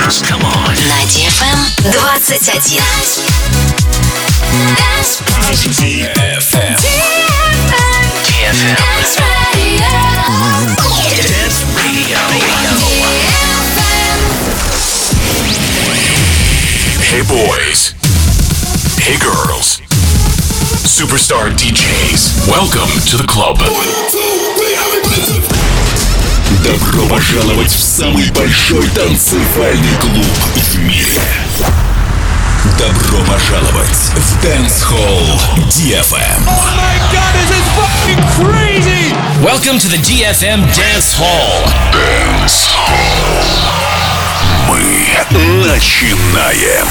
dance. Come on. На DFM 21. DFM. Dance Radio. Dance Radio. Hey boys. Hey girls. Superstar DJs. Welcome to the club. Добро пожаловать в самый большой танцевальный клуб в мире. Добро пожаловать в Dance Hall DFM. Oh my god, this is fucking crazy! Welcome to the DFM Dance Hall. Dance Hall. Мы начинаем.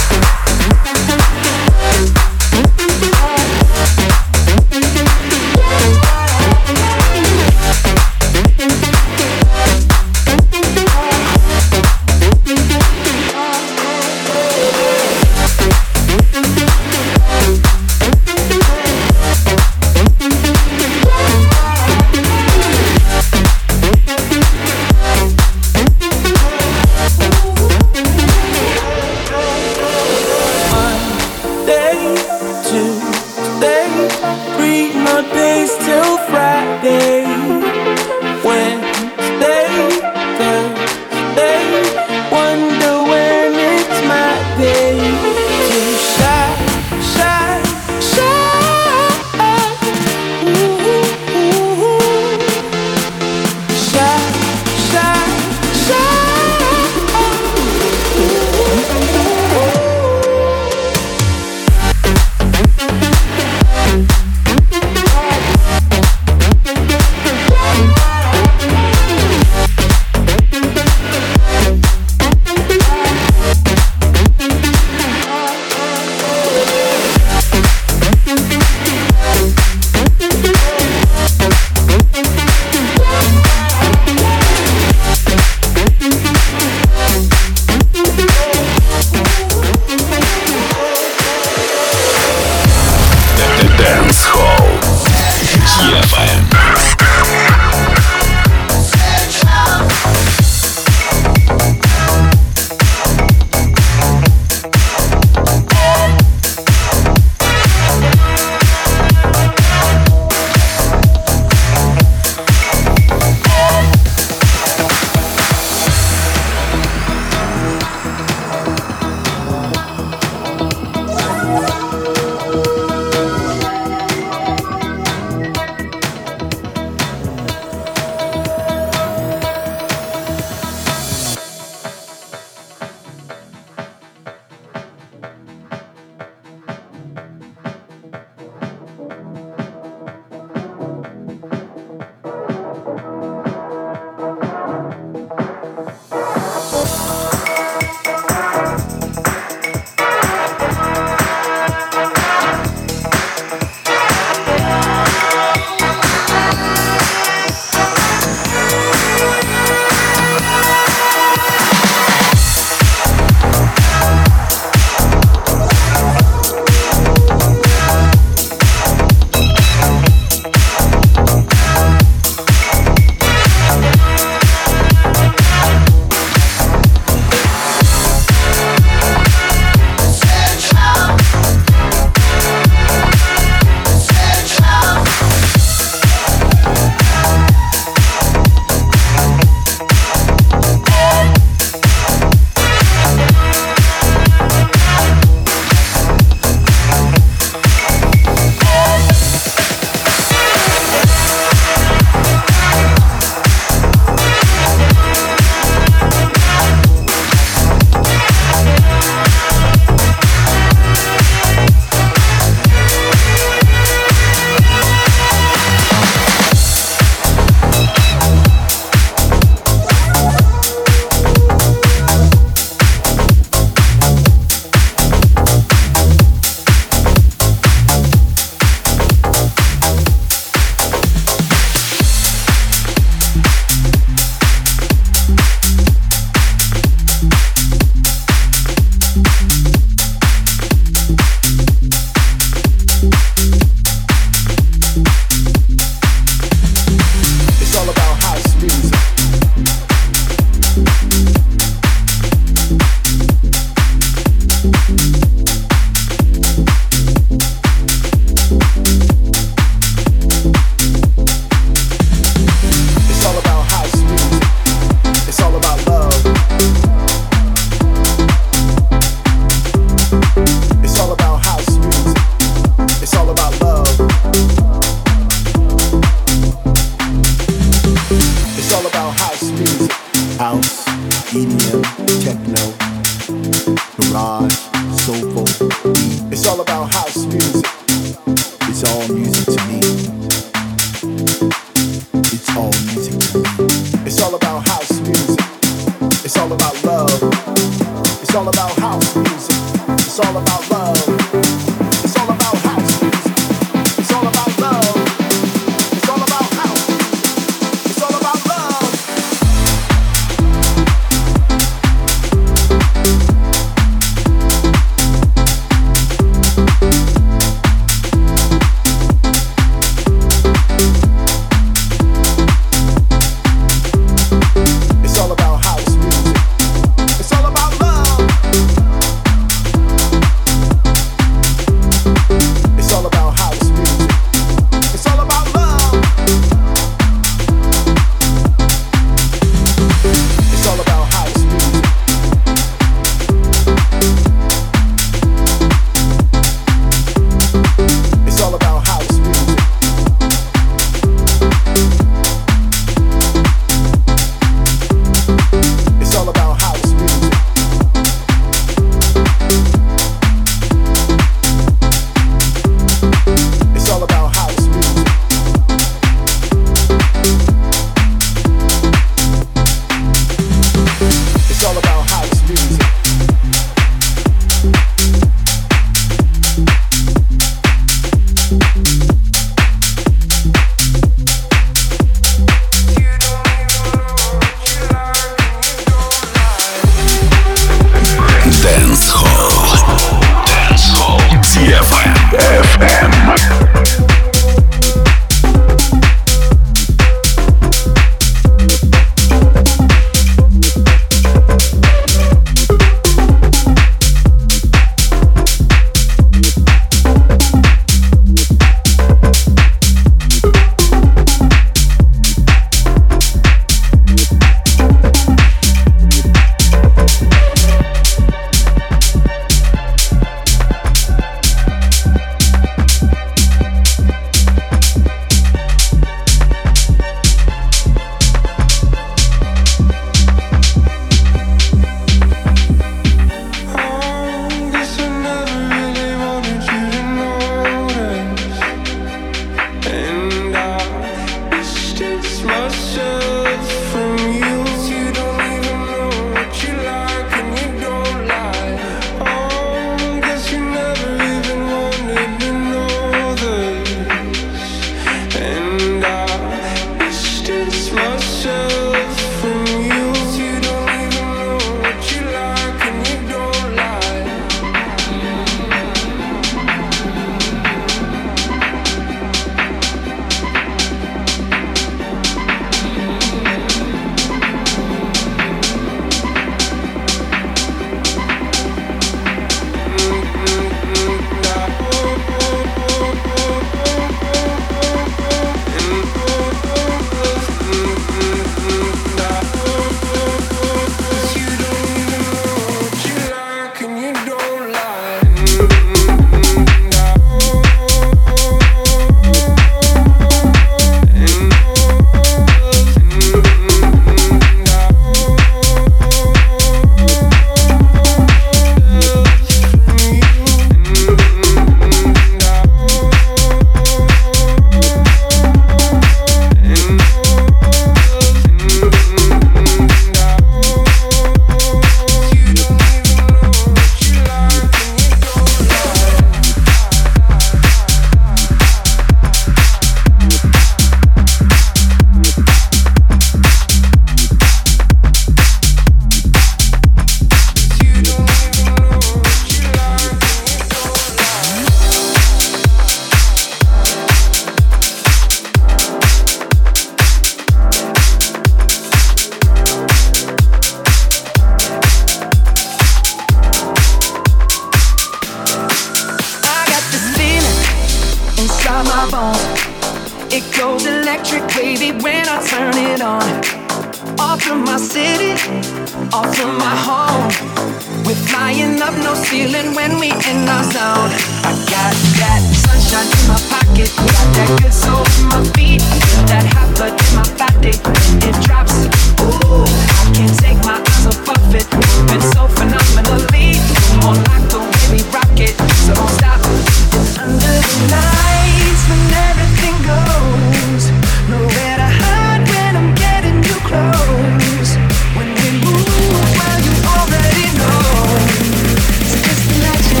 my bones. It goes electric wavy when I turn it on. Off from my city, off from my home. We're flying up, no ceiling when we in our zone. I got that sunshine in my pocket, got that good soul in my feet, feel that hot blood in my body. It drops, ooh, I can't take my eyes off of it. Moving so phenomenally, more like the way we rock it. So don't stop. It's under the lights when everything goes. Nowhere to hide when I'm getting too close. When we move, well you already know. So just imagine.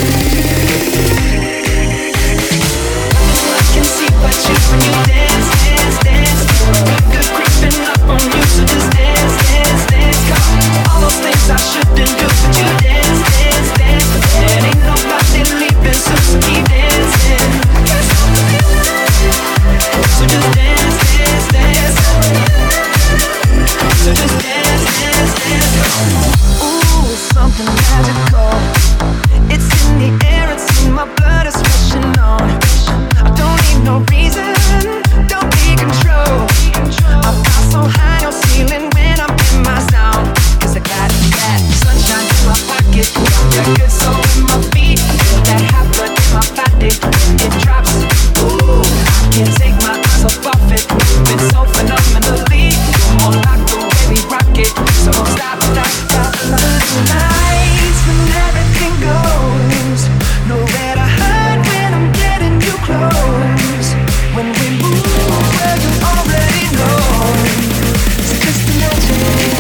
I can see but you when you dance, dance, dance. Good creeping up on you, so just dance, dance, dance. Come on, all those things I shouldn't do, but you dance, dance, dance. And ain't nobody leaving, so keep dancing. I can't stop the feeling. So just dance, dance, dance. So just dance, dance, dance. Ooh, it's something magical. It's in the air, it's in my blood, it's rushing on. I don't need no reason, don't be control. I fly so high, no ceiling when I'm in my zone. 'Cause I got that sunshine in my pocket, got that good soul in my feet, feel that hot blood in my body. It drops, ooh, I can't take my eyes off it. Moving so phenomenally, more like the way we rock it. So don't stop, stop, stop. Nights when everything goes, nowhere to hide when I'm getting too close. When we move, well you already know. So just imagine.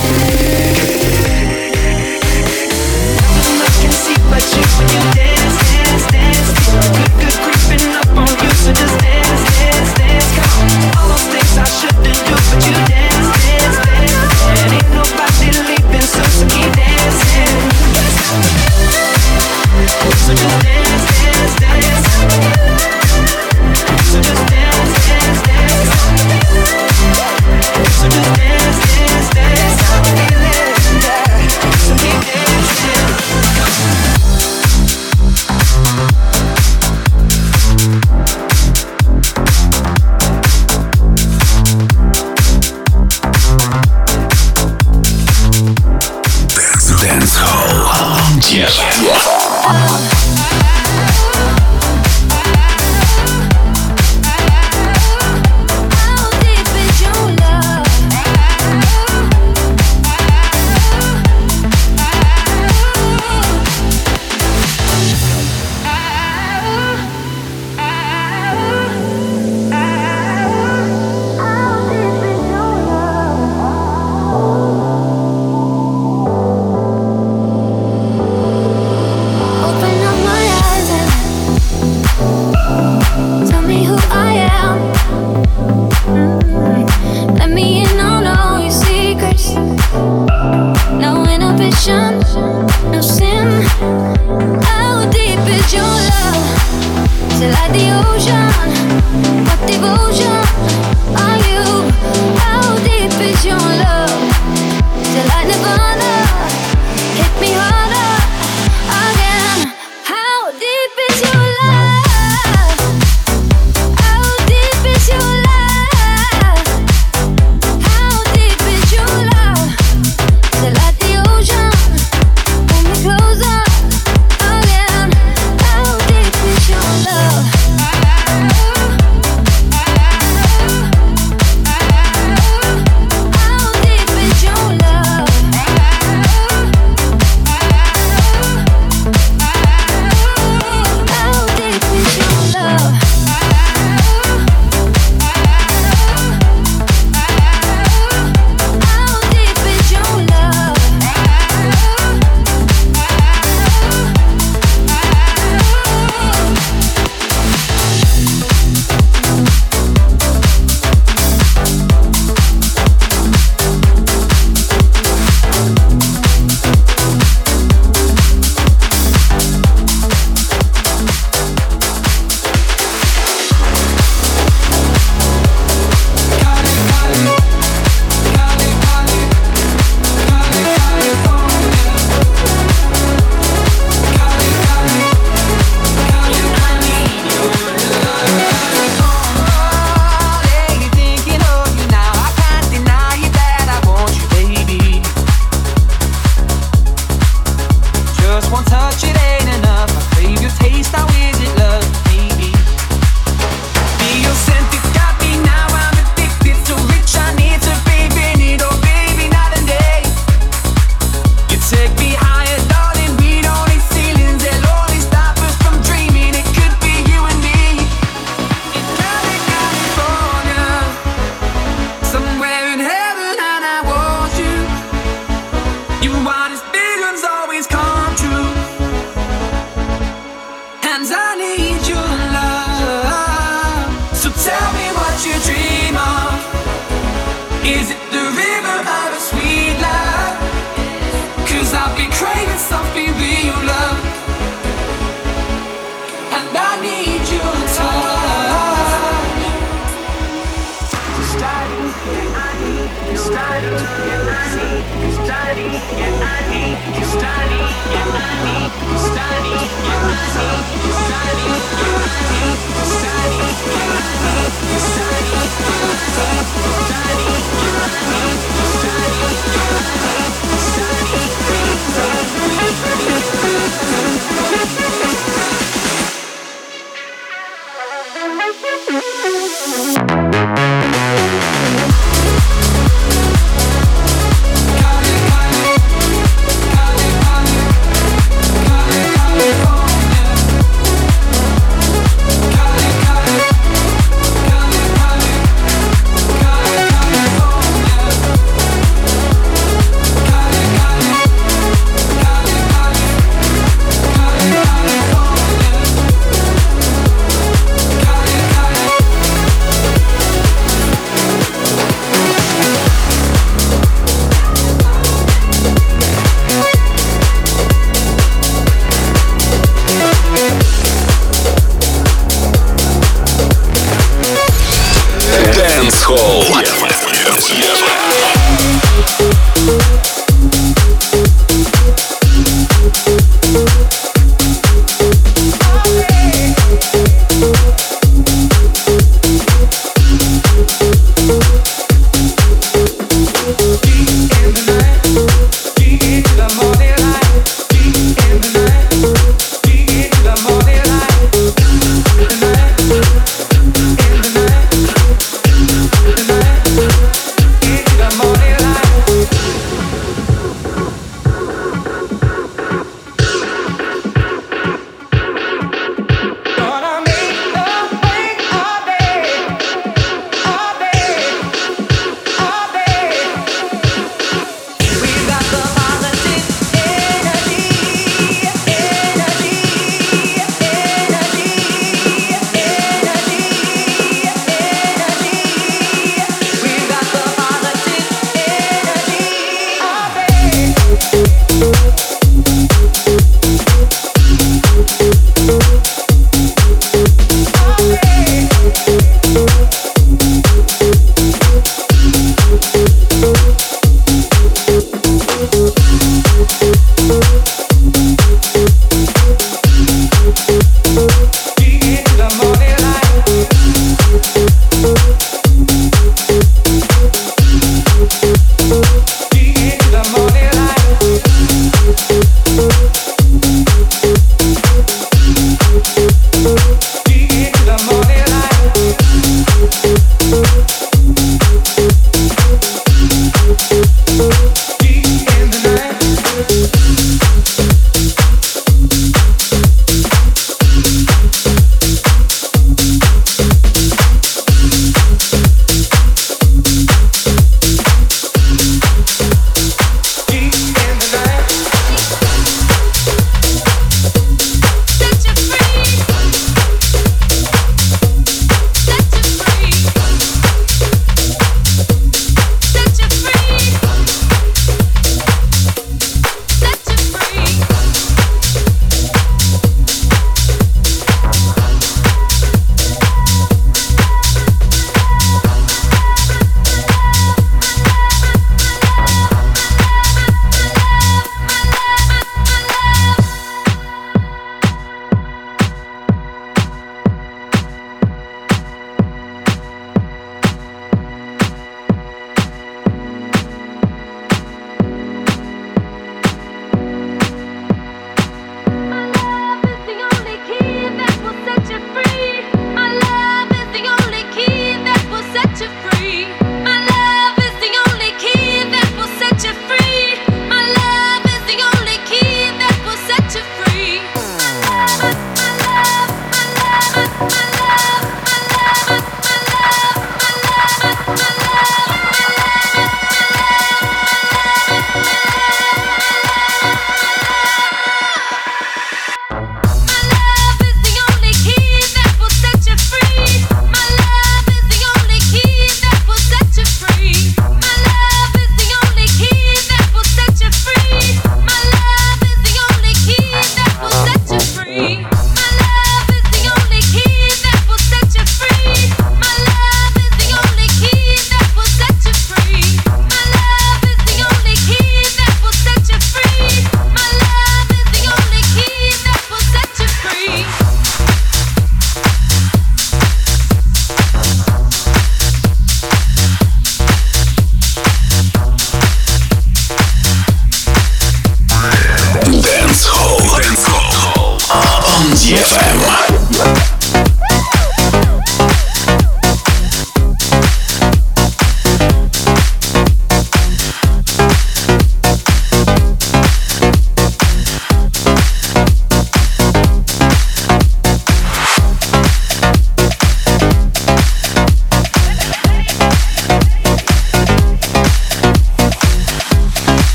Nothing I can see but you when you dance, dance, dance. Good creeping up on you, so just dance, dance, dance. Come on, all those things I shouldn't do, but you dance, dance, dance. And ain't nobody leaving, so keep dancing. So just dance, dance, dance. So just dance, dance, dance. So just dance, dance, dance. So keep dancing. Dance Hall. Yeah. No sin. How deep is your love? Is it like the ocean? What devotion are you? How deep is your love? Is it like Nirvana? Hit me harder again. How deep is your love? How deep is your love? How deep is your love? Is it like the ocean? Pull me closer again. How deep is your love? How deep is your love?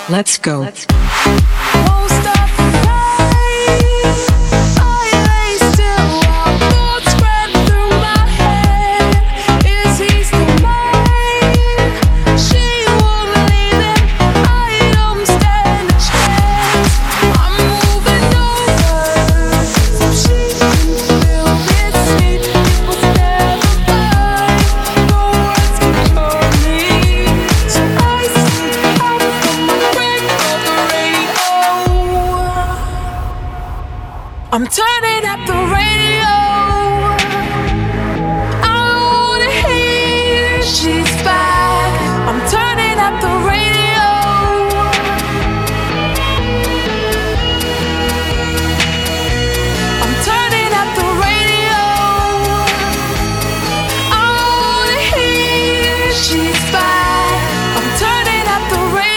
Let's go. Won't stop the rain. I lay still while thoughts run through my head. Is he still mine? She won't leave him. I don't stand a chance. I'm moving over so she can feel this heat. It was never mine. No words can cure me. So I sing out from my brain of the radio. I'm turning up the radio. I don't wanna hear she's back. I'm turning up the radio. I'm turning up the radio. I don't wanna hear she's back. I'm turning up the radio.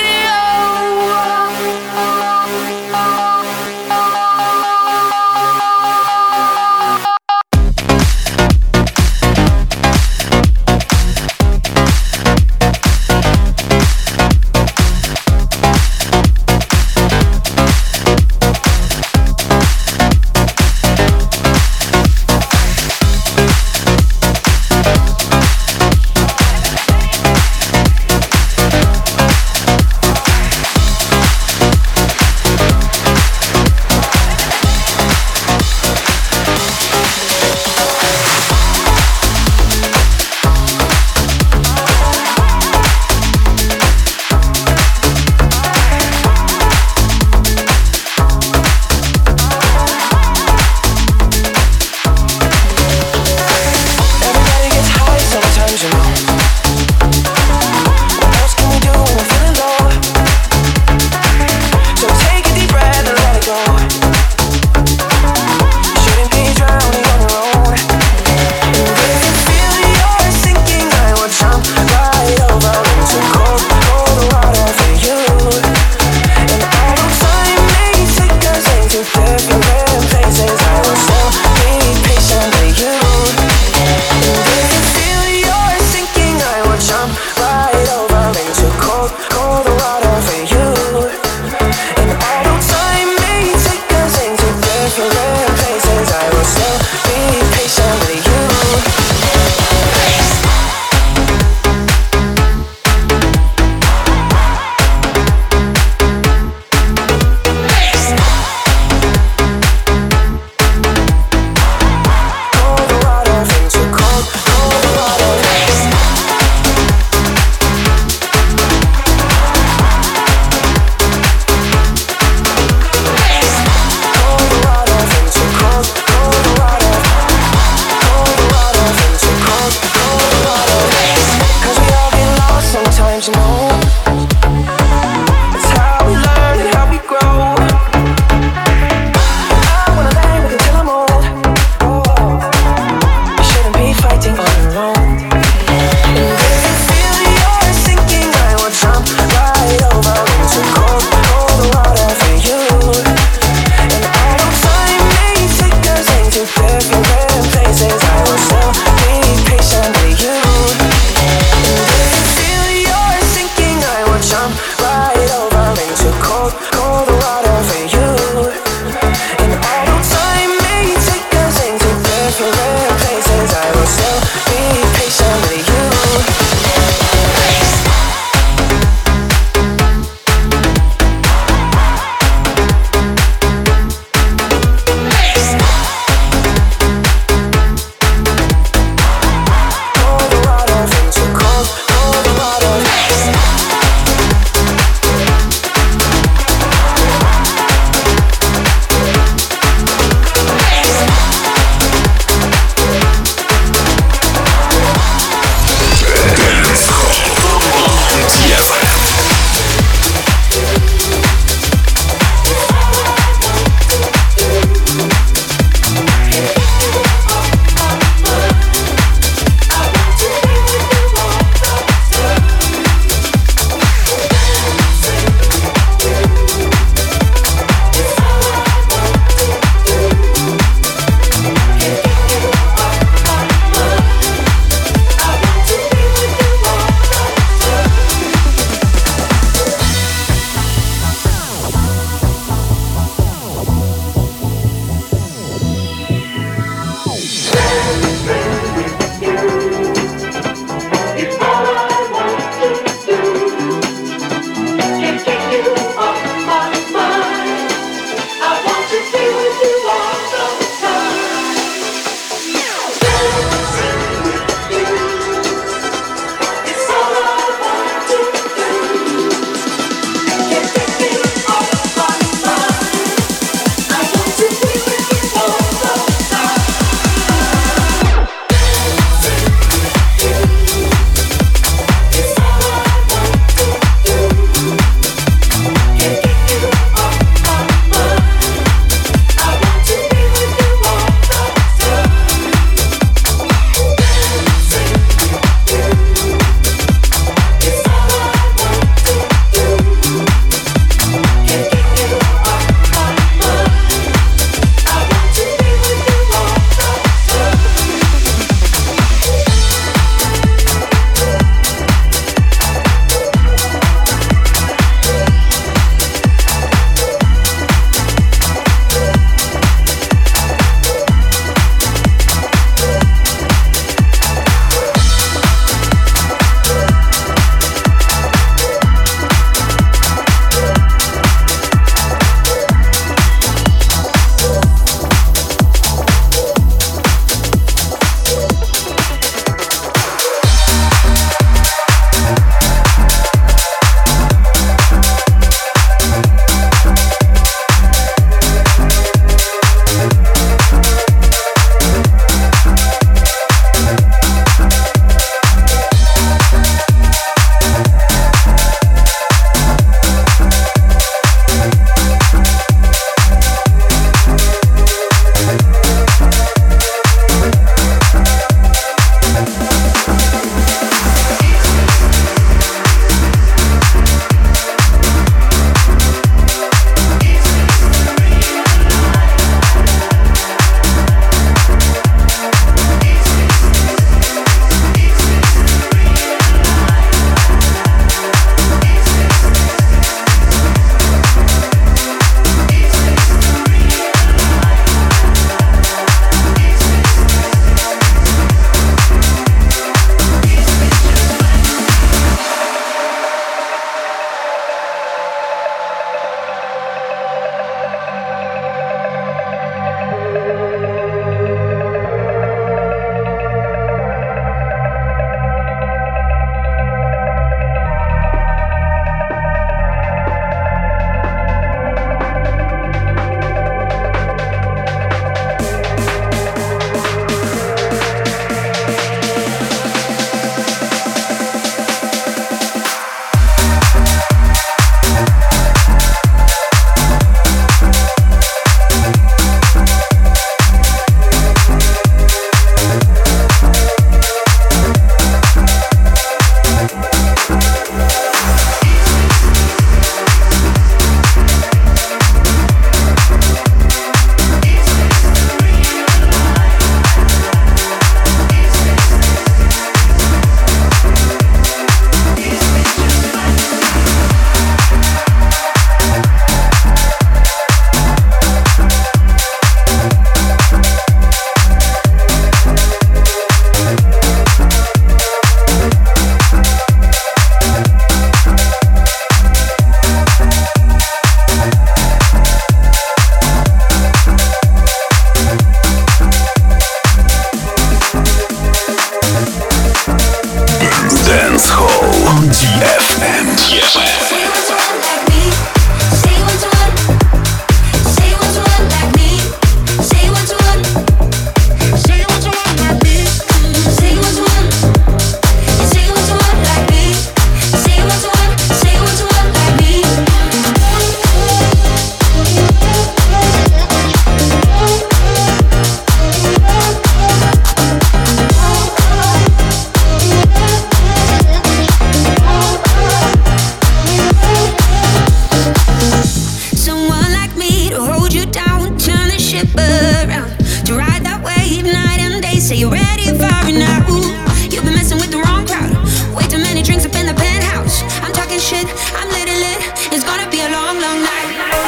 keep around to ride that wave night and day. Say you're ready for it now. You've been messing with the wrong crowd. Way too many drinks up in the penthouse. I'm talking shit, I'm lit and lit. It's gonna be a long, long night.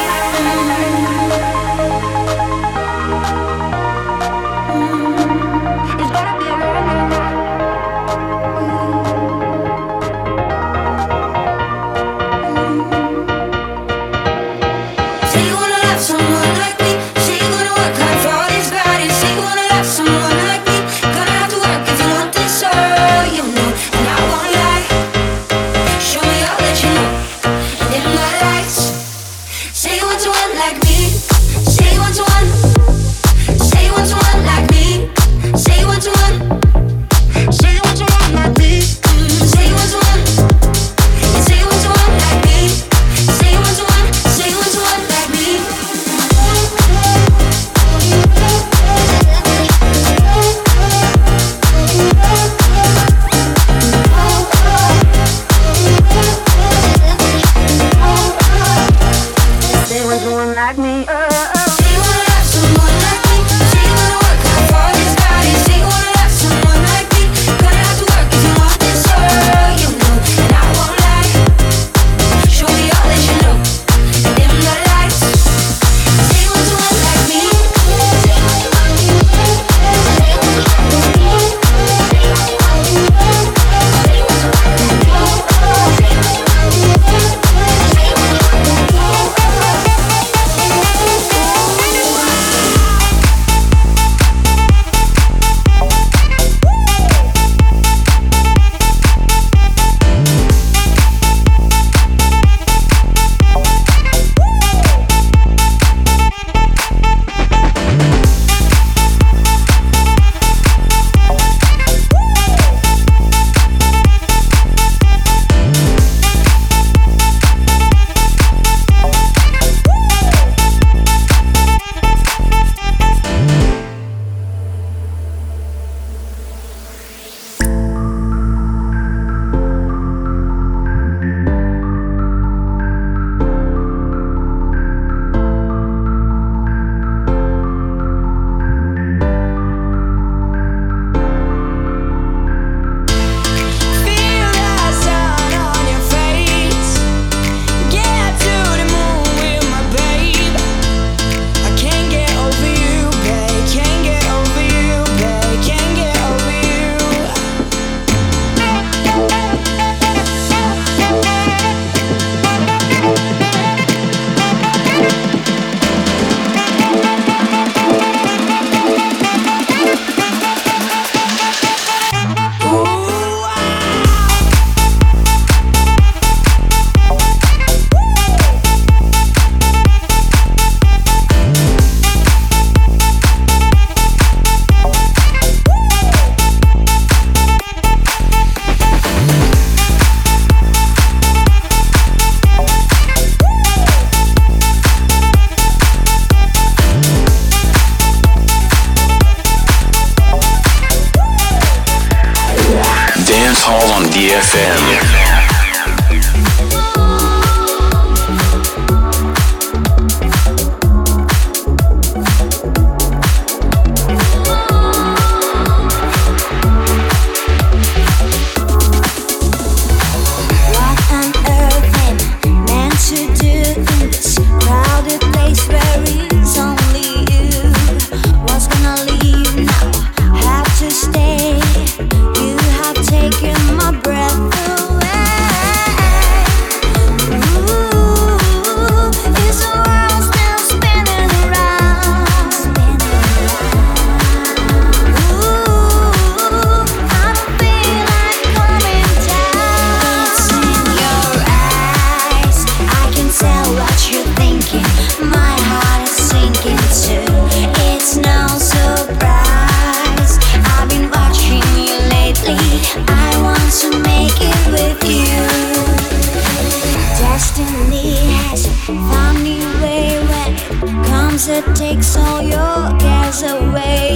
it takes all your cares away.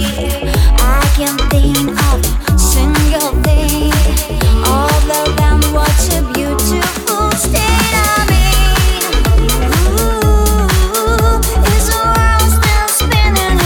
I can't think of a single thing other than what a beautiful state I'm in. Ooh, is the world still spinning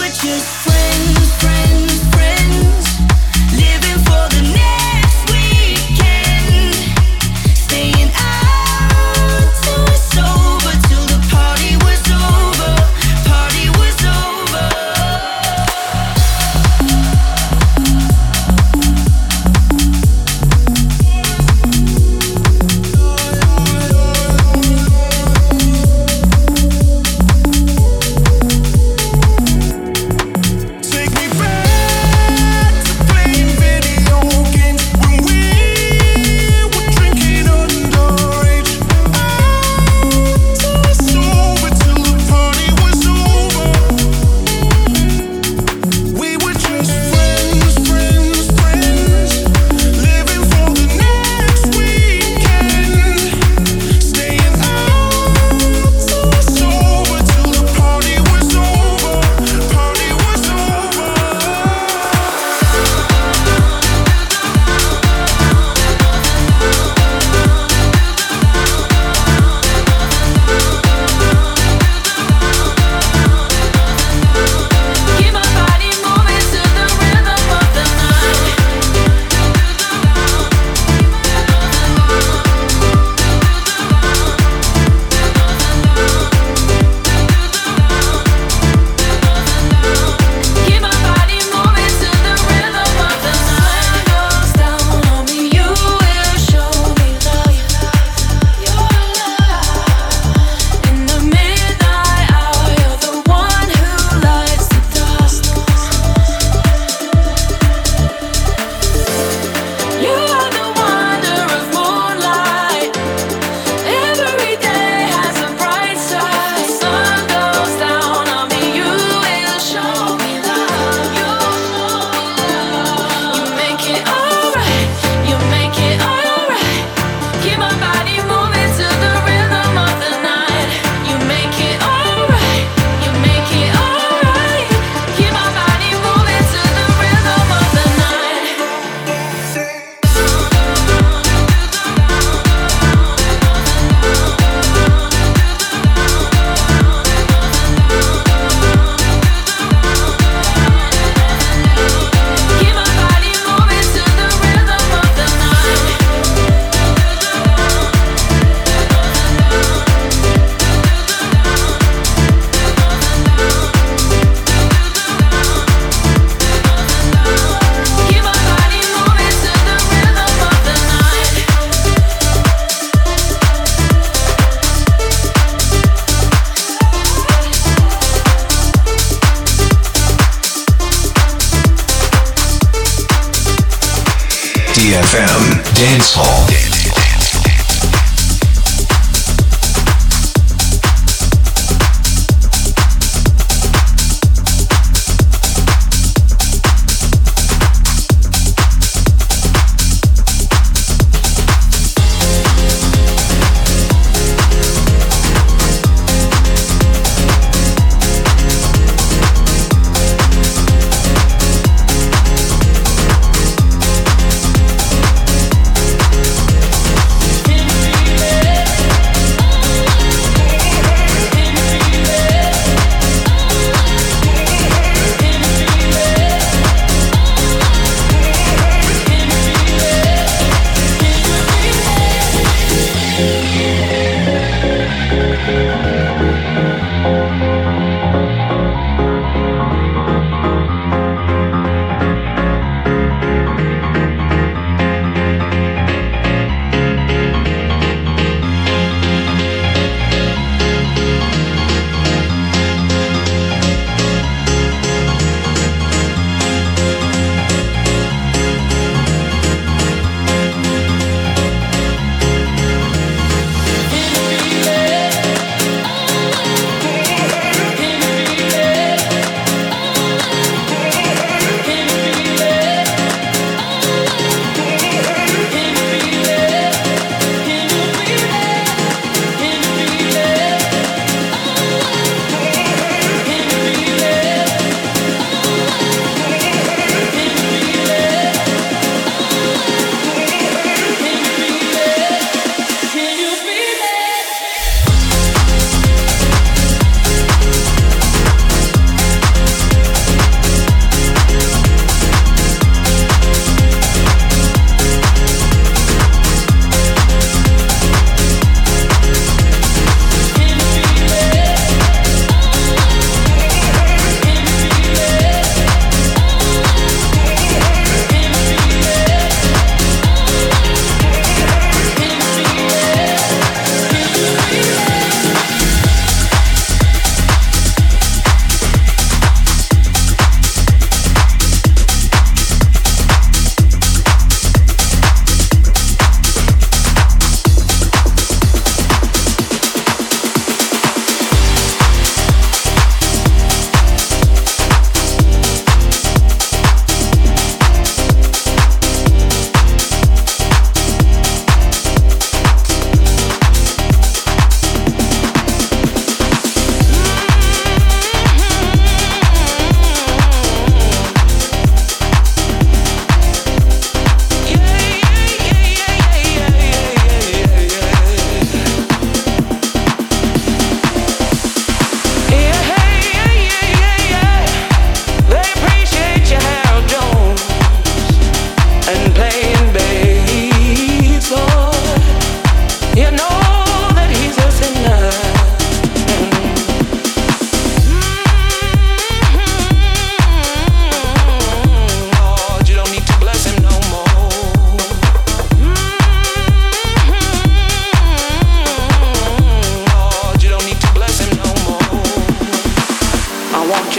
DFM Dance Hall.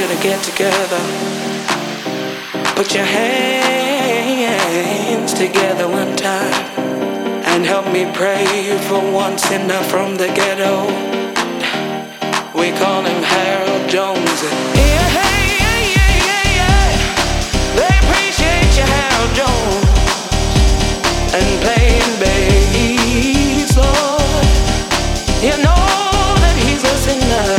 you to get together. Put your hands together one time and help me pray for one sinner from the ghetto. We call him Harold Jones. Yeah, yeah, yeah, yeah, yeah. They appreciate you, Harold Jones, and playing bass, Lord. You know that he's a sinner.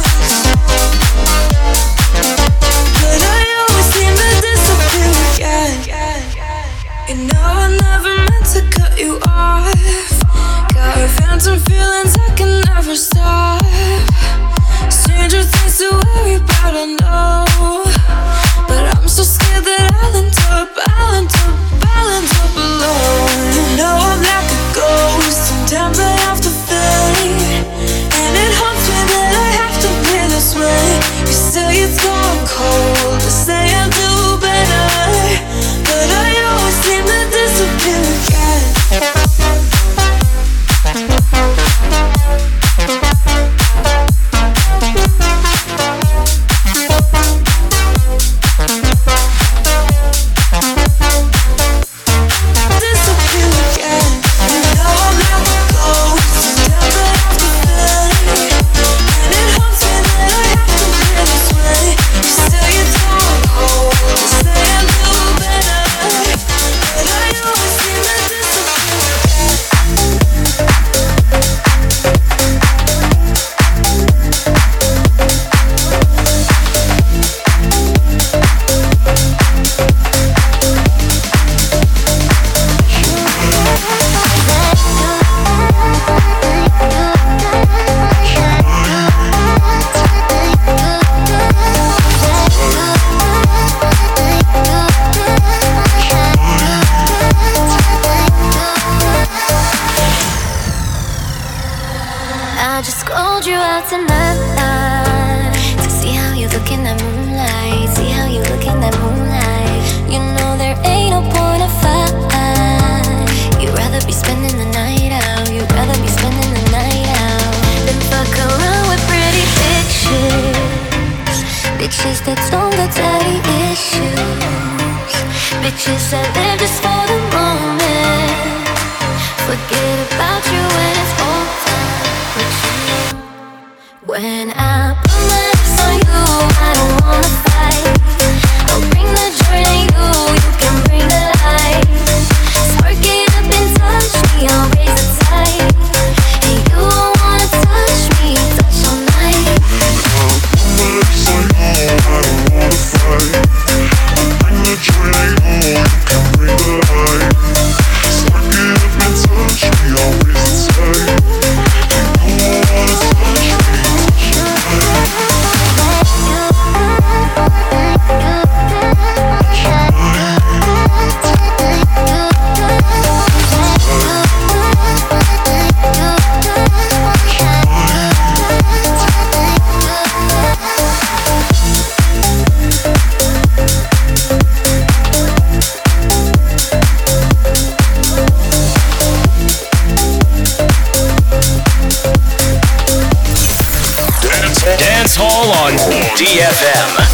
Yeah. She said live just for the moment, forget about you when it's over. But you know, when I put my lips on you, I don't wanna fight. I'll bring the joy to you, you can bring the light. Spark it up and touch me, I'll raise the tide. And you won't wanna touch me, touch all night. When I put my lips on you, I don't wanna fight. I'll bring the joy to you, you can bring the light. Spark it up and touch me, I'll raise the tide. And you won't wanna touch me, touch all night. Dance Hall on DFM.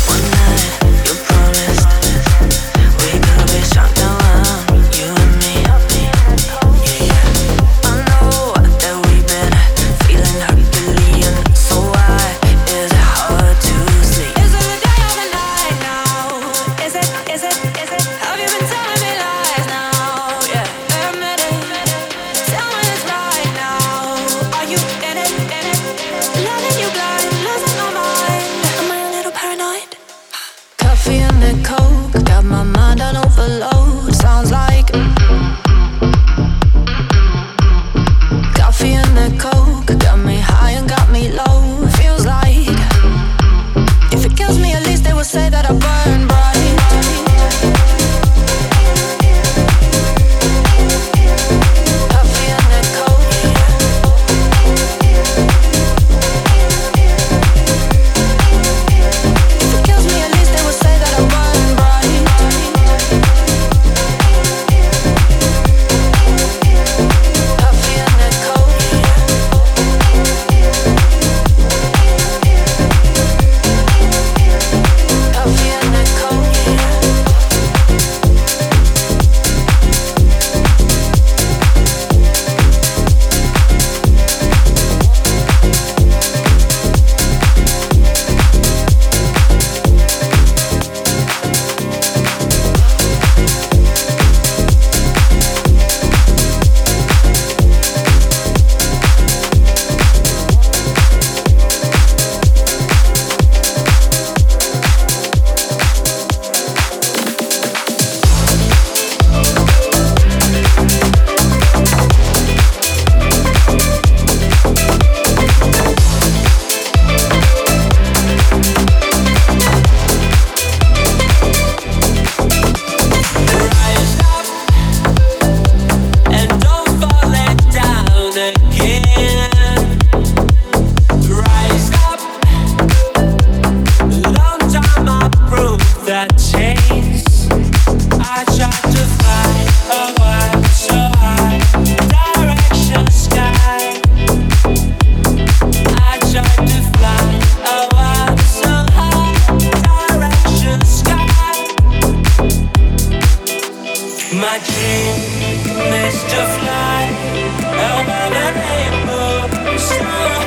dream is to fly over the rainbow. So